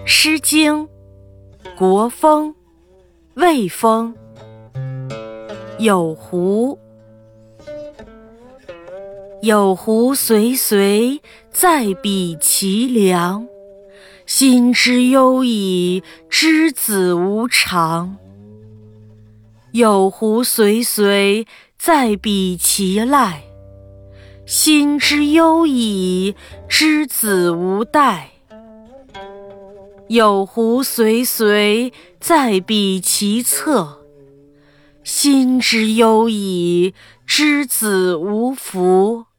诗经·国风·魏风。有狐，有狐随随，在彼其梁。心之忧矣，之子无常。有狐随随，在彼其赖。心之忧矣，之子无代。有狐随随，在彼其侧。心之忧矣，之子无福。